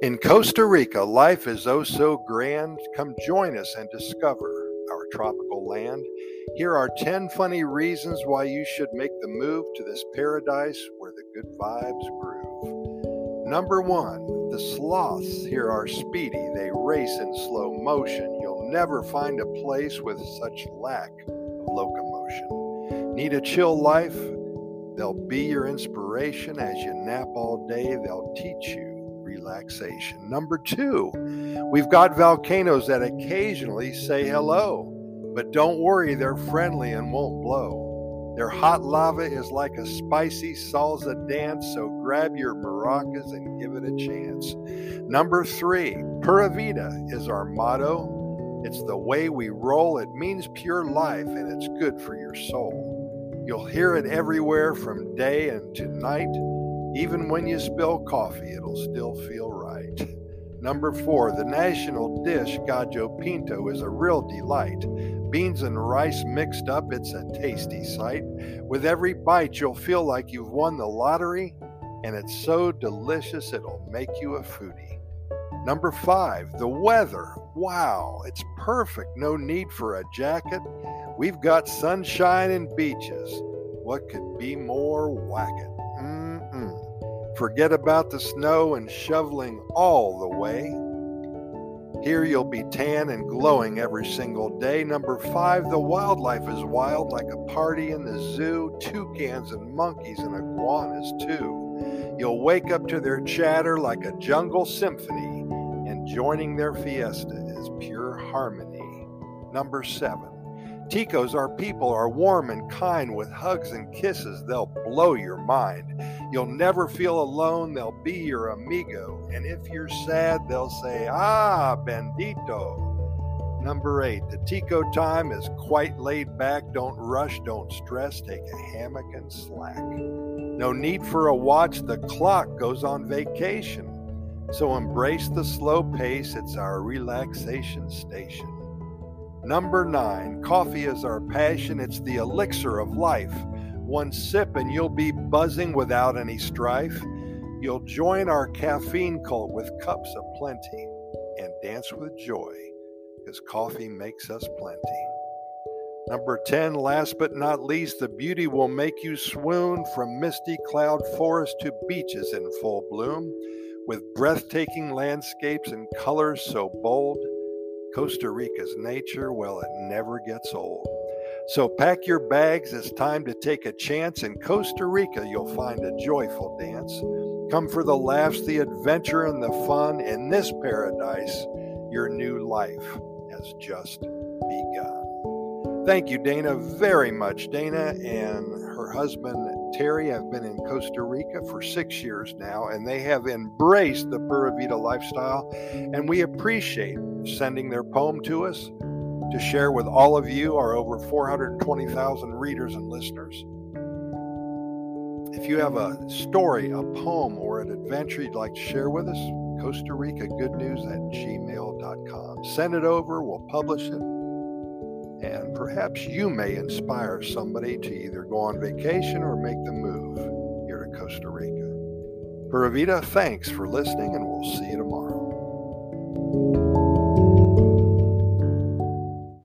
In Costa Rica, life is oh so grand. Come join us and discover our tropical land. Here are 10 funny reasons why you should make the move to this paradise where the good vibes groove. Number 1, the sloths here are speedy. They race in slow motion. You'll never find a place with such lack of locomotion. Need a chill life? They'll be your inspiration. As you nap all day, they'll teach you relaxation. Number 2, we've got volcanoes that occasionally say hello, but don't worry, they're friendly and won't blow. Their hot lava is like a spicy salsa dance, so grab your maracas and give it a chance. Number 3, Pura Vida is our motto. It's the way we roll. It means pure life, and it's good for your soul. You'll hear it everywhere from day and to night. Even when you spill coffee, it'll still feel right. Number 4, the national dish, Gallo Pinto, is a real delight. Beans and rice mixed up, it's a tasty sight. With every bite, you'll feel like you've won the lottery, and it's so delicious it'll make you a foodie. Number 5, the weather. Wow, it's perfect. No need for a jacket. We've got sunshine and beaches. What could be more whack-it? Forget about the snow and shoveling all the way. Here you'll be tan and glowing every single day. Number 5, the wildlife is wild like a party in the zoo. Toucans and monkeys and iguanas too. You'll wake up to their chatter like a jungle symphony, and joining their fiesta is pure harmony. Number 7, Ticos, our people, are warm and kind. With hugs and kisses, they'll blow your mind. You'll never feel alone. They'll be your amigo. And if you're sad, they'll say, "Ah, bendito." Number 8, the Tico time is quite laid back. Don't rush, don't stress. Take a hammock and slack. No need for a watch. The clock goes on vacation. So embrace the slow pace. It's our relaxation station. Number 9, coffee is our passion. It's the elixir of life. One sip and you'll be buzzing without any strife. You'll join our caffeine cult with cups of plenty and dance with joy, because coffee makes us plenty. Number 10, last but not least, the beauty will make you swoon. From misty cloud forest to beaches in full bloom, with breathtaking landscapes and colors so bold. Costa Rica's nature, well, it never gets old. So pack your bags, it's time to take a chance. In Costa Rica, you'll find a joyful dance. Come for the laughs, the adventure, and the fun. In this paradise, your new life has just begun. Thank you, Dana, very much. Dana and her husband, Terry, have been in Costa Rica for 6 years now, and they have embraced the Pura Vida lifestyle, and we appreciate sending their poem to us to share with all of you, our over 420,000 readers and listeners. If you have a story, a poem, or an adventure you'd like to share with us, Costa Rica Goodnews at gmail.com. Send it over, we'll publish it, and perhaps you may inspire somebody to either go on vacation or make the move here to Costa Rica. Pura Vida, thanks for listening, and we'll see you tomorrow.